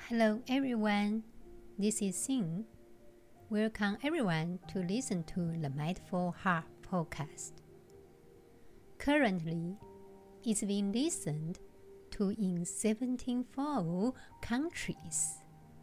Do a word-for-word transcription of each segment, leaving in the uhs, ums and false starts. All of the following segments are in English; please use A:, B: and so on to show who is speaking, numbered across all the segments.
A: Hello everyone, this is Xin. Welcome everyone to listen to the Mindful Heart podcast. Currently, it's being listened to in seventeen countries.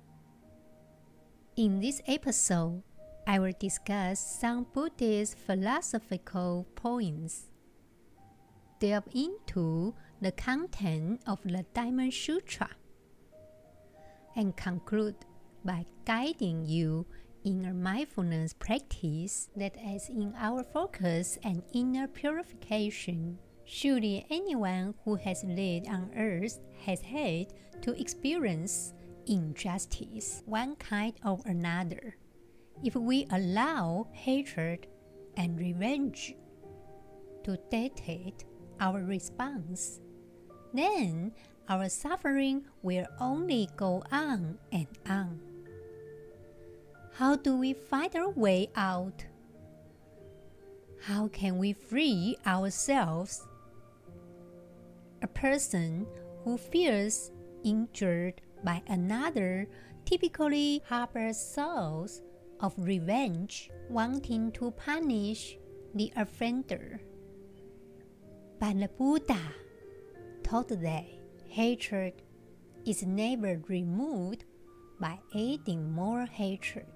A: In this episode, I will discuss some Buddhist philosophical points, delve into the content of the Diamond Sutra, and conclude by guiding you in a mindfulness practice that is in our focus and inner purification. Surely anyone who has lived on earth has had to experience injustice, one kind or another. If we allow hatred and revenge to dictate our response, then our suffering will only go on and on. How do we find our way out? How can we free ourselves? A person who feels injured by another typically harbors thoughts of revenge, wanting to punish the offender. But the Buddha taught that hatred is never removed by adding more hatred.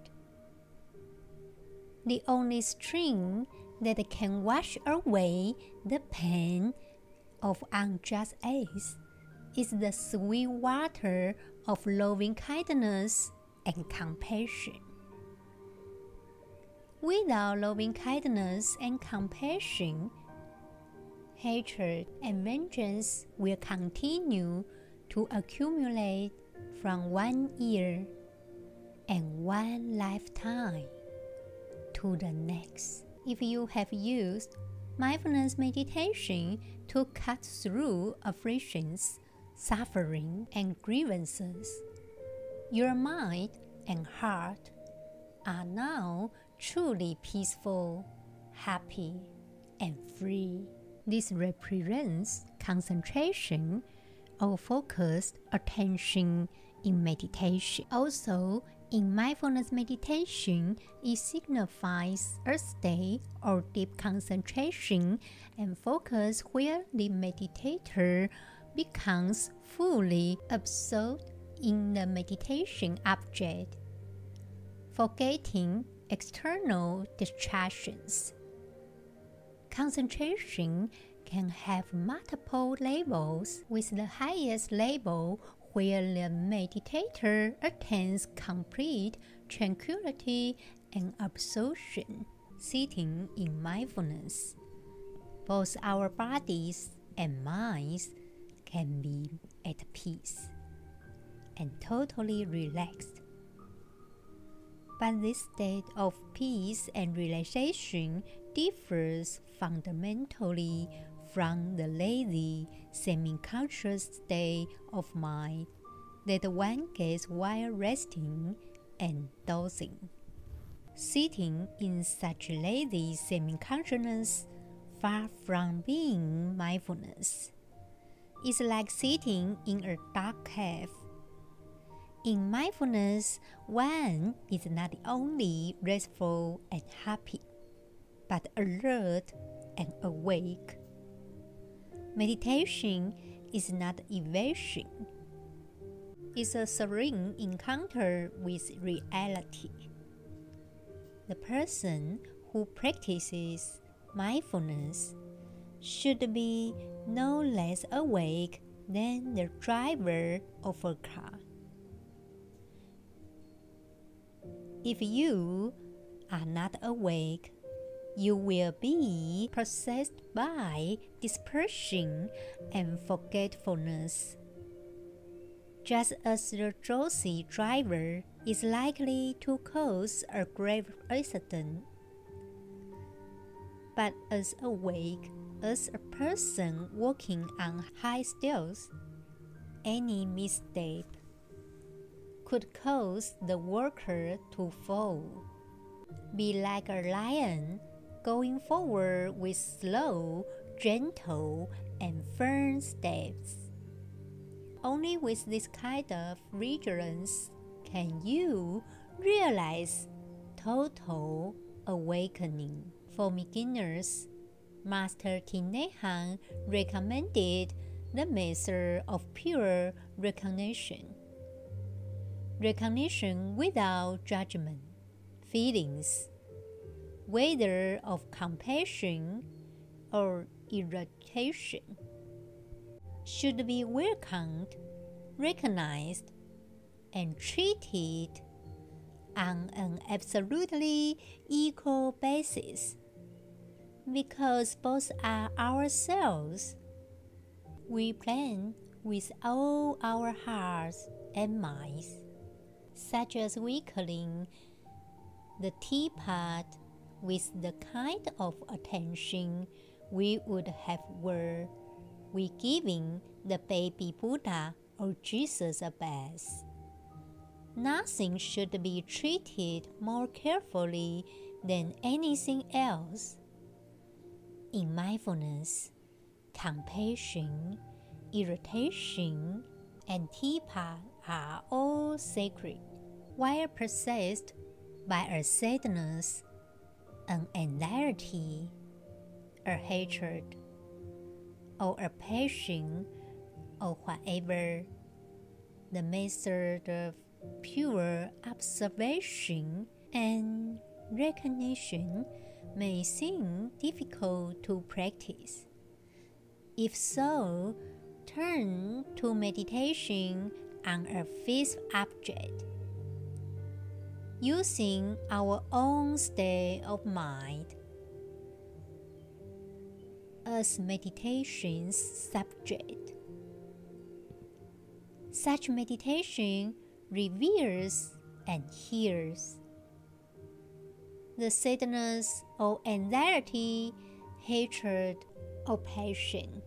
A: The only stream that can wash away the pain of unjust acts is the sweet water of loving kindness and compassion. Without loving kindness and compassion, hatred and vengeance will continue to accumulate from one year and one lifetime to the next. If you have used mindfulness meditation to cut through afflictions, suffering, and grievances, your mind and heart are now truly peaceful, happy, and free. This represents concentration or focused attention in meditation. Also, in mindfulness meditation, it signifies a state or deep concentration and focus where the meditator becomes fully absorbed in the meditation object, forgetting external distractions. Concentration can have multiple levels, with the highest level where the meditator attains complete tranquility and absorption. Sitting in mindfulness, both our bodies and minds can be at peace and totally relaxed. But this state of peace and relaxation differs fundamentally from the lazy, semi-conscious state of mind that one gets while resting and dozing. Sitting in such lazy semi-consciousness, far from being mindfulness, is like sitting in a dark cave. In mindfulness, one is not only restful and happy, but alert and awake. Meditation is not evasion. It's a serene encounter with reality. The person who practices mindfulness should be no less awake than the driver of a car. If you are not awake, you will be possessed by dispersion and forgetfulness, just as the drowsy driver is likely to cause a grave accident. But as awake as a person walking on high stilts, any misstep could cause the walker to fall. Be like a lion going forward with slow, gentle, and firm steps. Only with this kind of vigilance can you realize total awakening. For beginners, Master King Naihan recommended the method of pure recognition. Recognition without judgment, feelings, whether of compassion or irritation, should be welcomed, recognized, and treated on an absolutely equal basis, because both are ourselves. We plan with all our hearts and minds, such as we clean the teapot with the kind of attention we would have were we giving the baby Buddha or Jesus a bath. Nothing should be treated more carefully than anything else. In mindfulness, compassion, irritation, and teapot are all sacred, while possessed by a sadness, an anxiety, a hatred, or a passion, or whatever. The method of pure observation and recognition may seem difficult to practice. If so, turn to meditation on a fixed object. Using our own state of mind as meditation's subject. Such meditation reveals and heals the sadness or anxiety, hatred, or passion.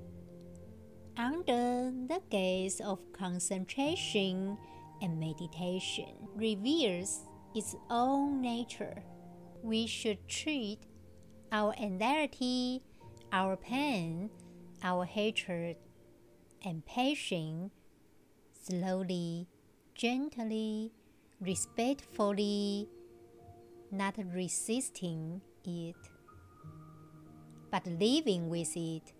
A: Under the gaze of concentration and meditation reveals its own nature. We should treat our anxiety, our pain, our hatred, and passion slowly, gently, respectfully, not resisting it, but living with it,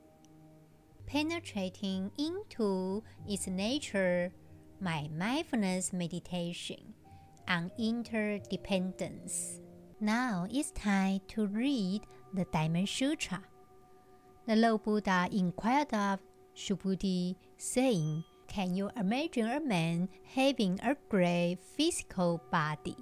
A: penetrating into its nature. My mindfulness meditation on interdependence. Now it's time to read the Diamond Sutra. The Lord Buddha inquired of Subhuti, saying, "Can you imagine a man having a great physical body?"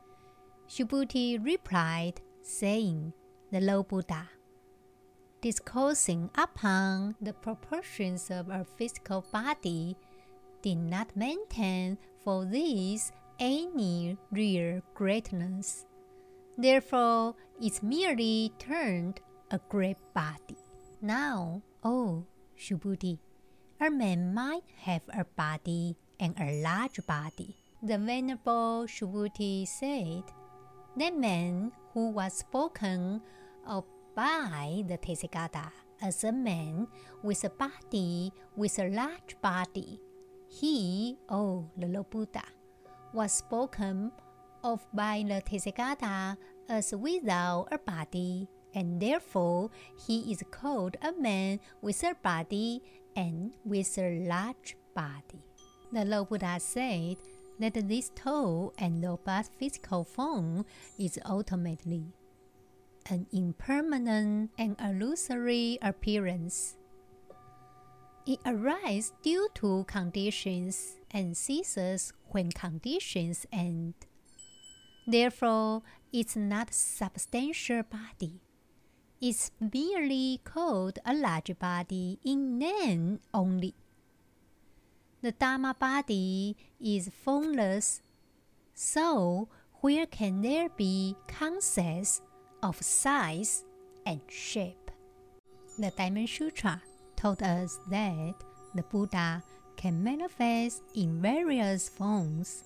A: Subhuti replied, saying, "The Lord Buddha, discoursing upon the proportions of a physical body, did not maintain for this any real greatness. Therefore, it merely turned a great body. Now, O Subhuti, a man might have a body and a large body." The Venerable Subhuti said, "That man who was spoken of by the Tathagata as a man with a body with a large body, he, O the Lord Buddha, was spoken of by the Tathagata as without a body, and therefore he is called a man with a body and with a large body." The Lord Buddha said that this tall and robust physical form is ultimately an impermanent and illusory appearance. It arises due to conditions and ceases when conditions end. Therefore, it's not a substantial body. It's merely called a large body in name only. The Dharma body is formless, so where can there be concepts of size and shape? The Diamond Sutra told us that the Buddha can manifest in various forms,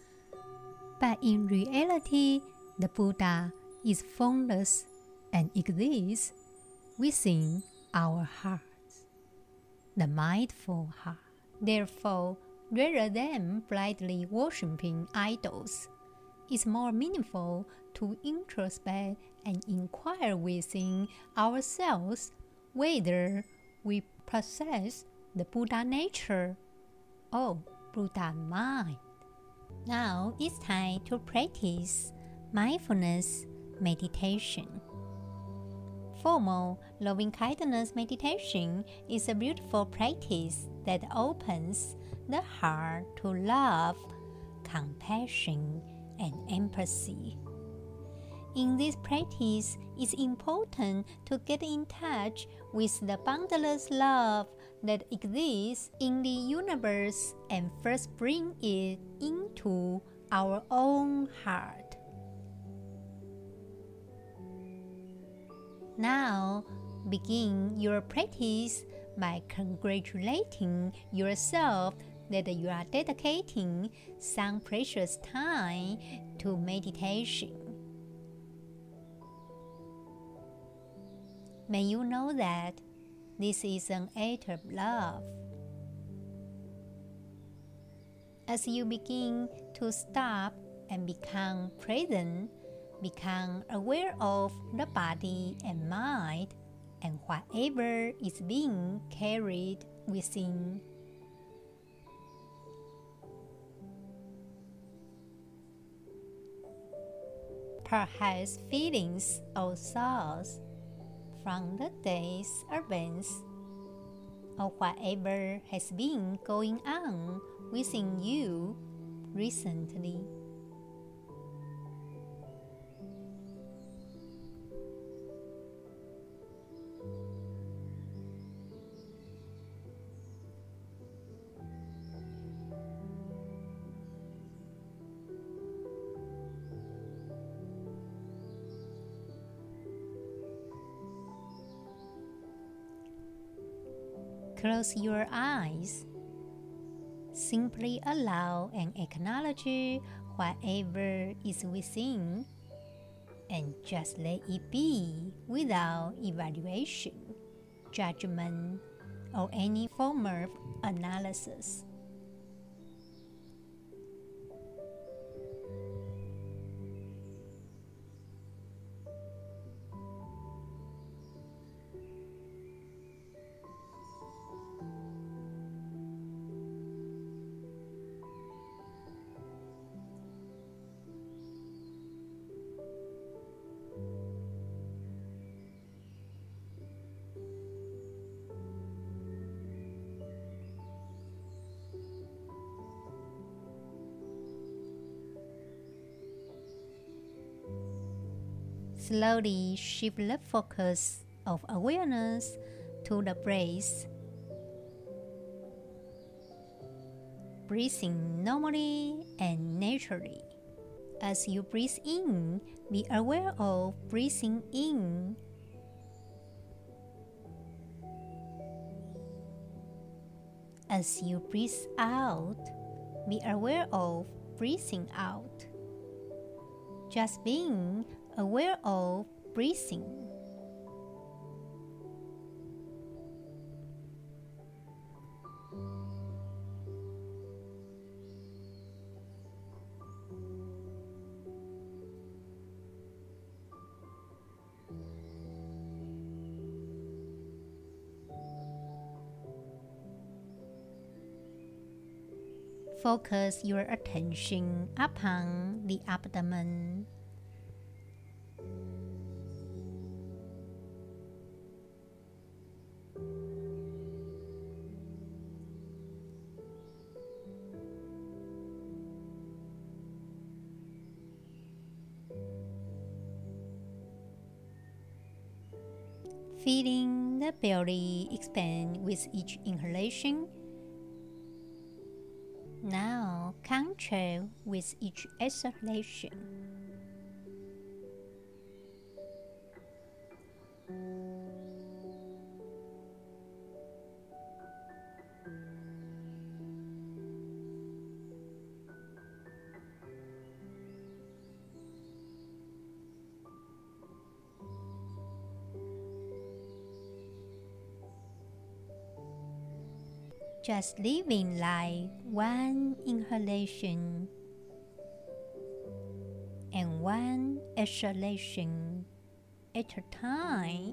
A: but in reality, the Buddha is formless and exists within our hearts, the mindful heart. Therefore, rather than blindly worshipping idols, it's more meaningful to introspect and inquire within ourselves whether we possess the Buddha nature or Buddha mind. Now it's time to practice mindfulness meditation. Formal loving-kindness meditation is a beautiful practice that opens the heart to love, compassion, and empathy. In this practice, it's important to get in touch with the boundless love that exists in the universe and first bring it into our own heart. Now, begin your practice by congratulating yourself that you are dedicating some precious time to meditation. May you know that this is an act of love. As you begin to stop and become present, become aware of the body and mind and whatever is being carried within. Perhaps feelings or thoughts from the day's events or whatever has been going on within you recently. Close your eyes. Simply allow and acknowledge whatever is within, and just let it be without evaluation, judgment, or any form of analysis. Slowly shift the focus of awareness to the breath. Breathing normally and naturally. As you breathe in, be aware of breathing in. As you breathe out, be aware of breathing out. Just being aware of breathing. Focus your attention upon the abdomen. Feeling the belly expand with each inhalation. Now contract with each exhalation. just living like one inhalation and one exhalation at a time.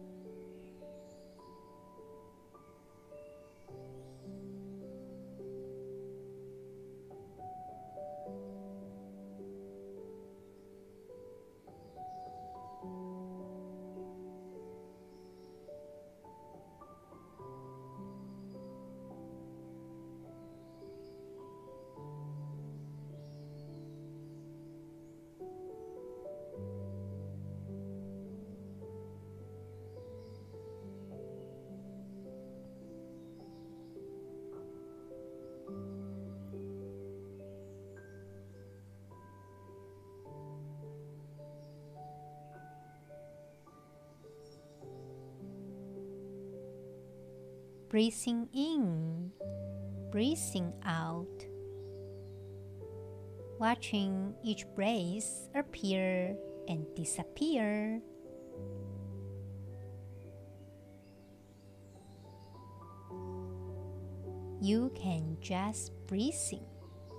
A: Breathing in, breathing out, watching each breath appear and disappear. You can just breathe in.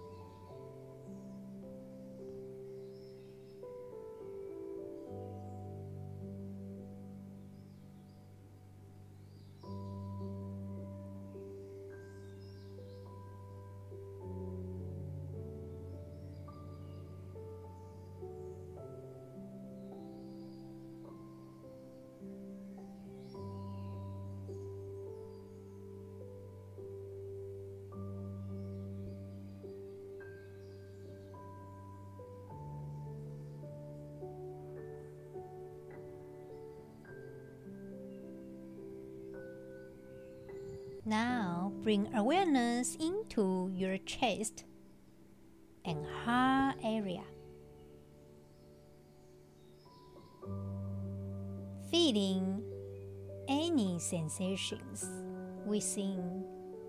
A: Now bring awareness into your chest and heart area, feeling any sensations within.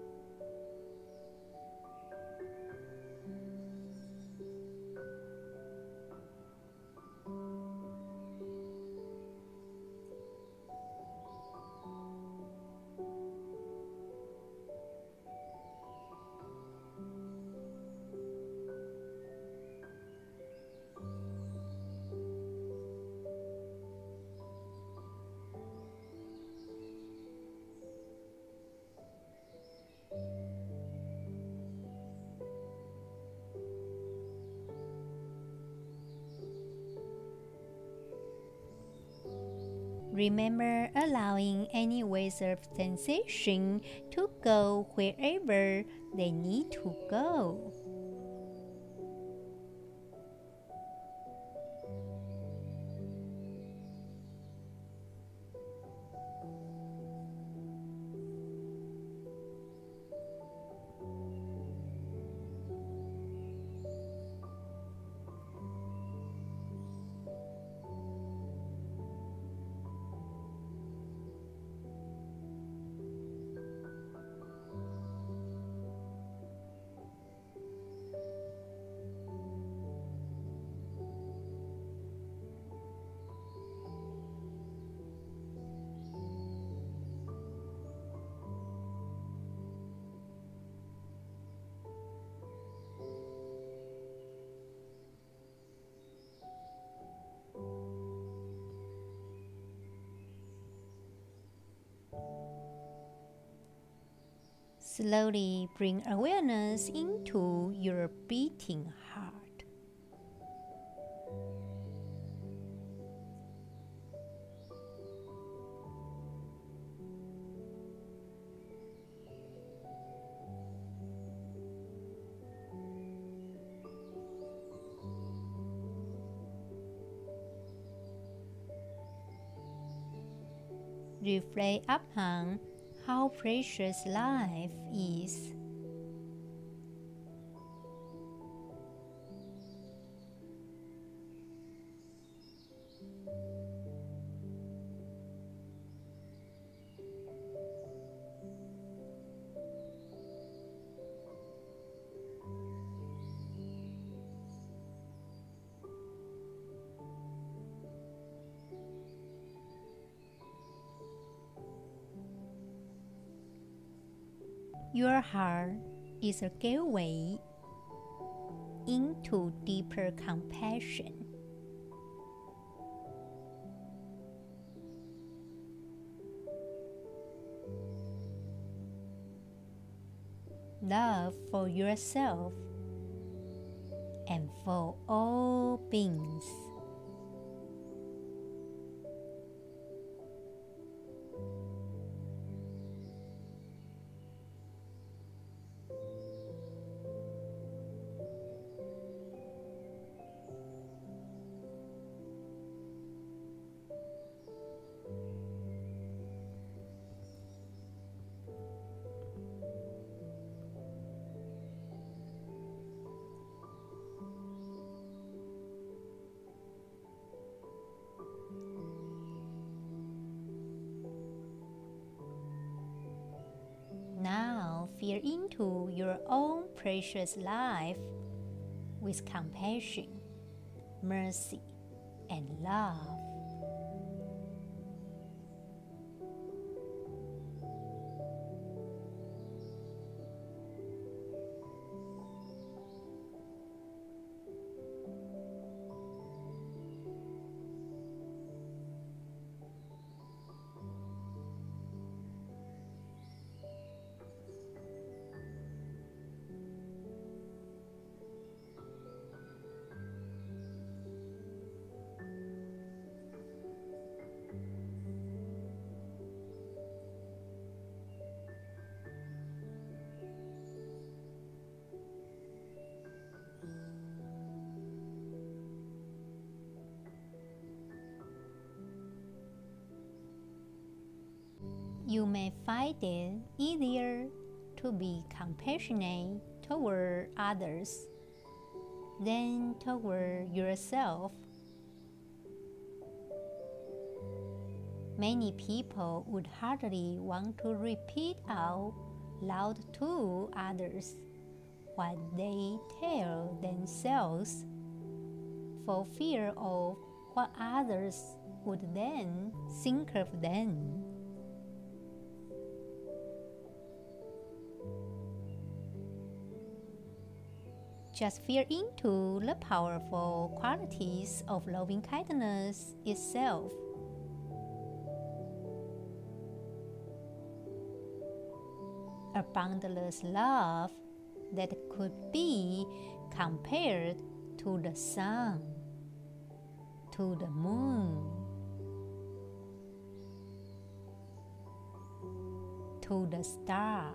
A: Remember allowing any waves of sensation to go wherever they need to go. Slowly bring awareness into your beating heart. Reflect upon how precious life is. Your heart is a gateway into deeper compassion. Love for yourself and for all beings. Now feel into your own precious life with compassion, mercy, and love. You may find it easier to be compassionate toward others than toward yourself. Many people would hardly want to repeat out loud to others what they tell themselves for fear of what others would then think of them. Just feel into the powerful qualities of loving kindness itself. A boundless love that could be compared to the sun, to the moon, to the stars,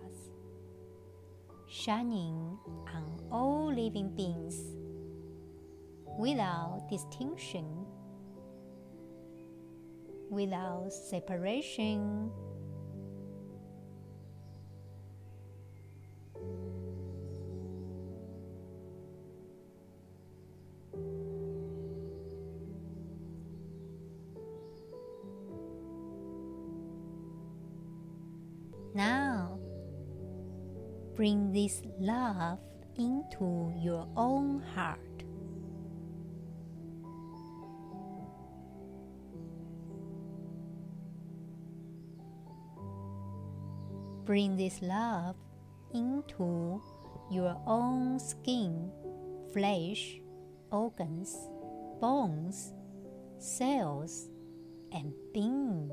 A: shining on all living beings without distinction, without separation. Now, bring this love into your own heart. Bring this love into your own skin, flesh, organs, bones, cells, and being.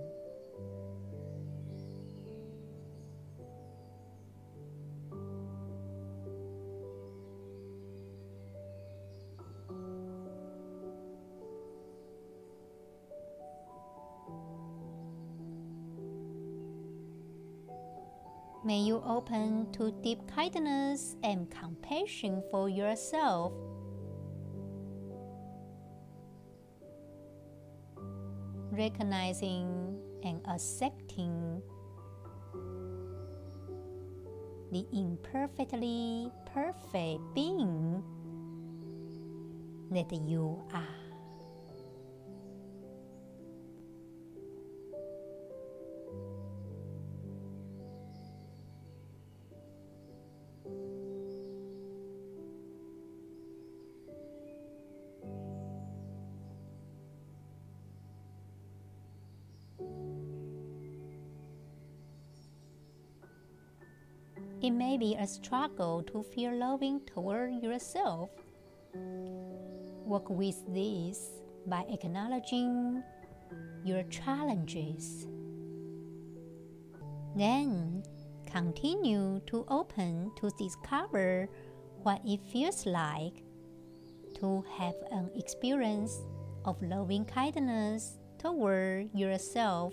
A: May you open to deep kindness and compassion for yourself. Recognizing and accepting the imperfectly perfect being that you are. It may be a struggle to feel loving toward yourself. Work with this by acknowledging your challenges. Then, continue to open to discover what it feels like to have an experience of loving kindness toward yourself.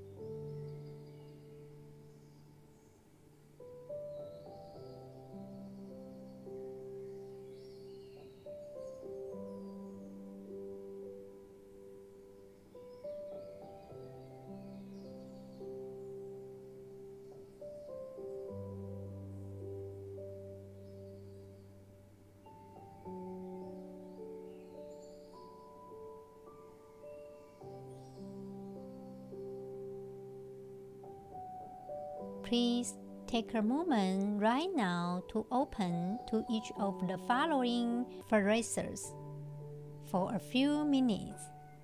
A: Please take a moment right now to open to each of the following phrases for a few minutes.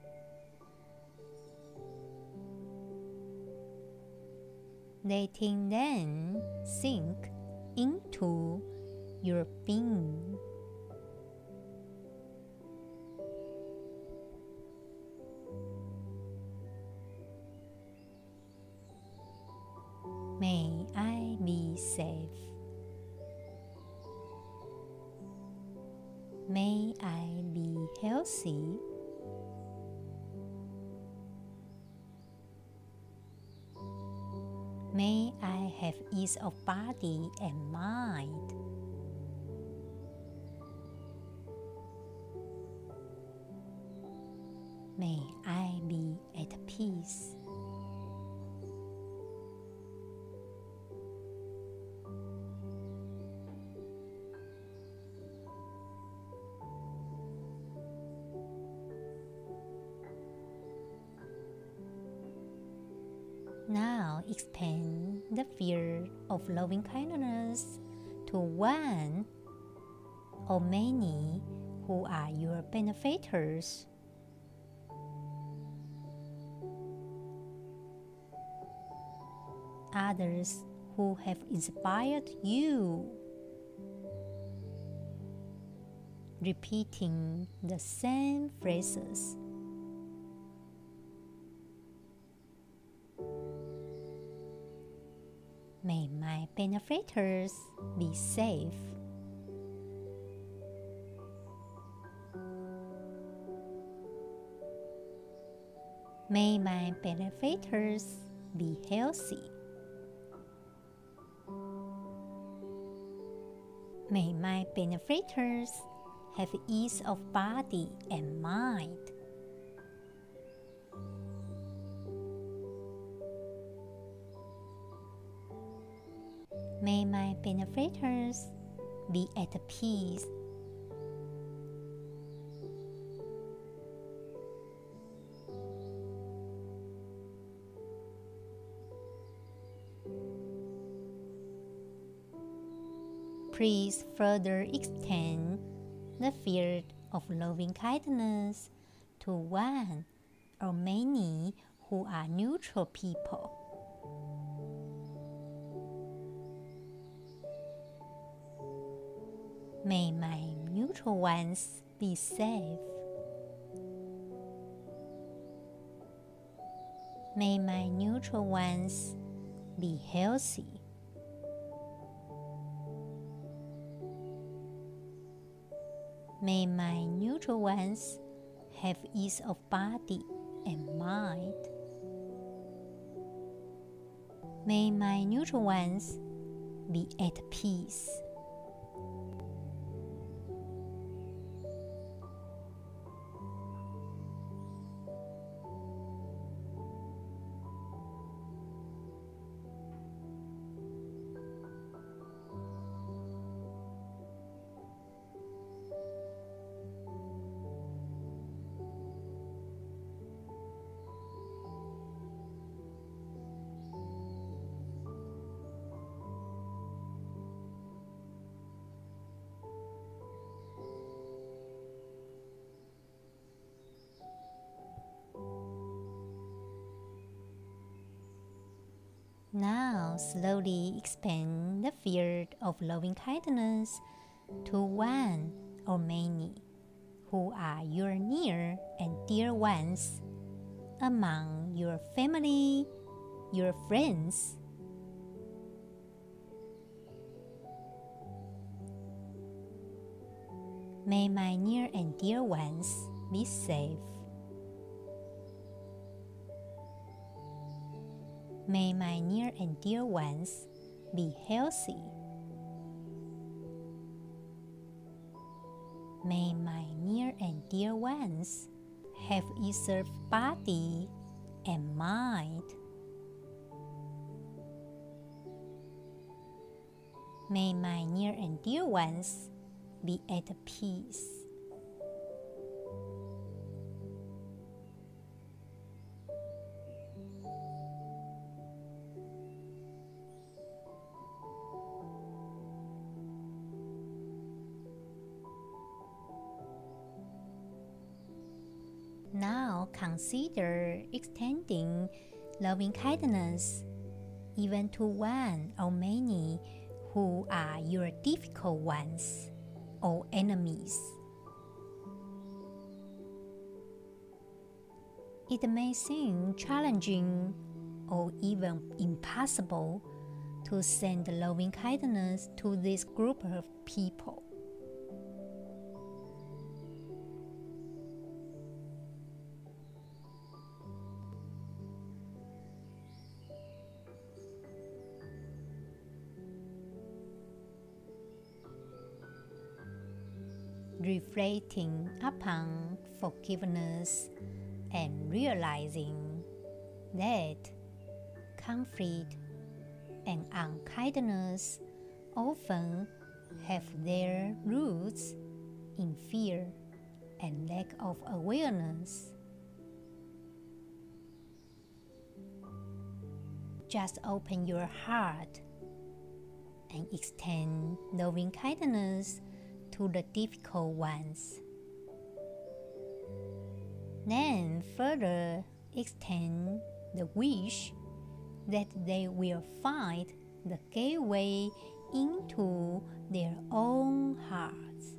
A: Letting them sink into your being. May I be safe. May I be healthy. May I have ease of body and mind. May I be at peace. Now expand the field of loving kindness to one or many who are your benefactors. Others who have inspired you. Repeating the same phrases. May my benefactors be safe. May my benefactors be healthy. May my benefactors have ease of body and mind. May my benefactors be at peace. Please further extend the field of loving kindness to one or many who are neutral people. May my neutral ones be safe. May my neutral ones be healthy. May my neutral ones have ease of body and mind. May my neutral ones be at peace. slowly expand the field of loving kindness to one or many who are your near and dear ones among your family, your friends. May my near and dear ones be safe. May my near and dear ones be healthy. May my near and dear ones have either body and mind. May my near and dear ones be at peace. Now consider extending loving kindness even to one or many who are your difficult ones or enemies. It may seem challenging or even impossible to send loving kindness to this group of people. Reflecting upon forgiveness and realizing that conflict and unkindness often have their roots in fear and lack of awareness. Just open your heart and extend loving kindness to the difficult ones. Then further extend the wish that they will find the gateway into their own hearts,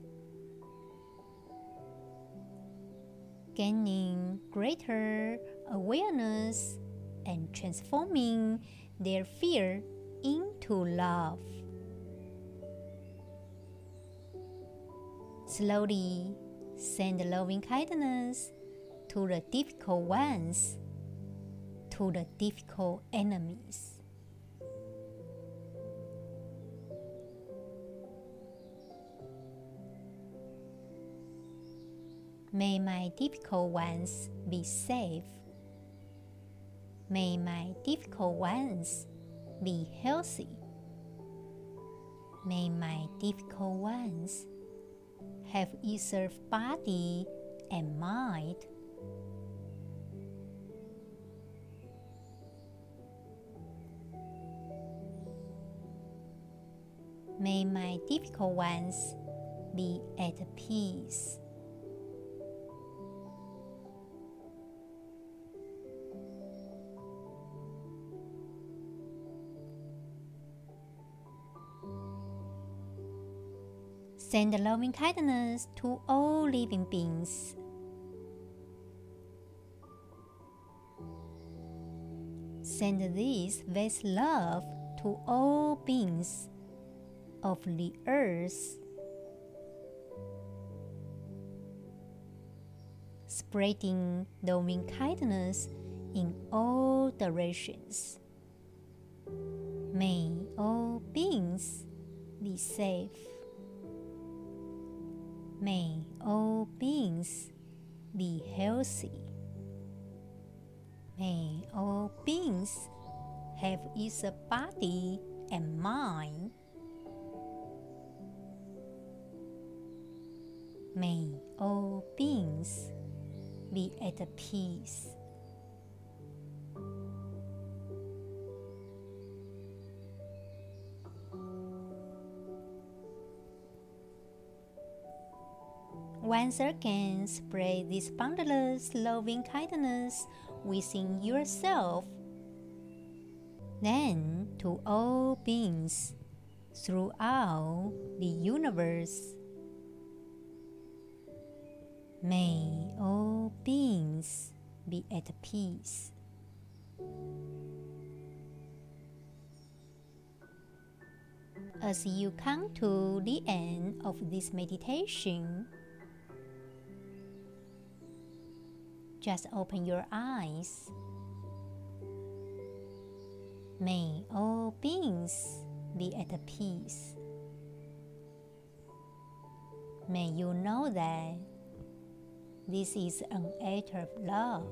A: gaining greater awareness and transforming their fear into love. Slowly send loving kindness to the difficult ones, to the difficult enemies. May my difficult ones be safe. May my difficult ones be healthy. May my difficult ones have either body and mind. May my difficult ones be at peace. Send loving kindness to all living beings. Send this vast love to all beings of the earth, spreading loving kindness in all directions. May all beings be safe. May all beings be healthy. May all beings have either body and mind. May all beings be at peace. Once again, spread this boundless loving kindness within yourself. Then to all beings throughout the universe. May all beings be at peace. As you come to the end of this meditation, just open your eyes. May all beings be at peace. May you know that this is an act of love.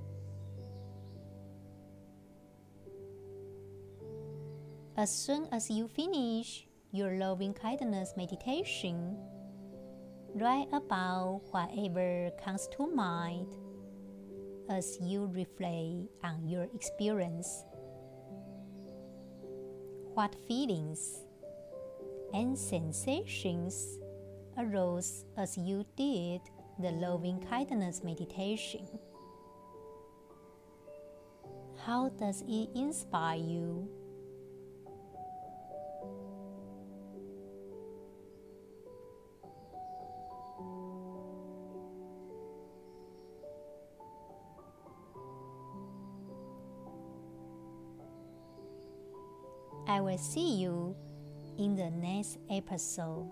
A: As soon as you finish your loving kindness meditation, write about whatever comes to mind as you reflect on your experience. What feelings and sensations arose as you did the loving kindness meditation? How does it inspire you? I will see you in the next episode.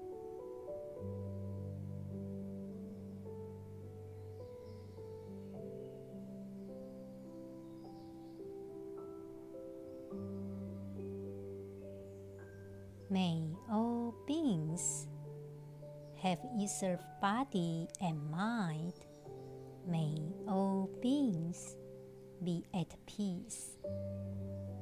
A: May all beings have ether body and mind. May all beings be at peace.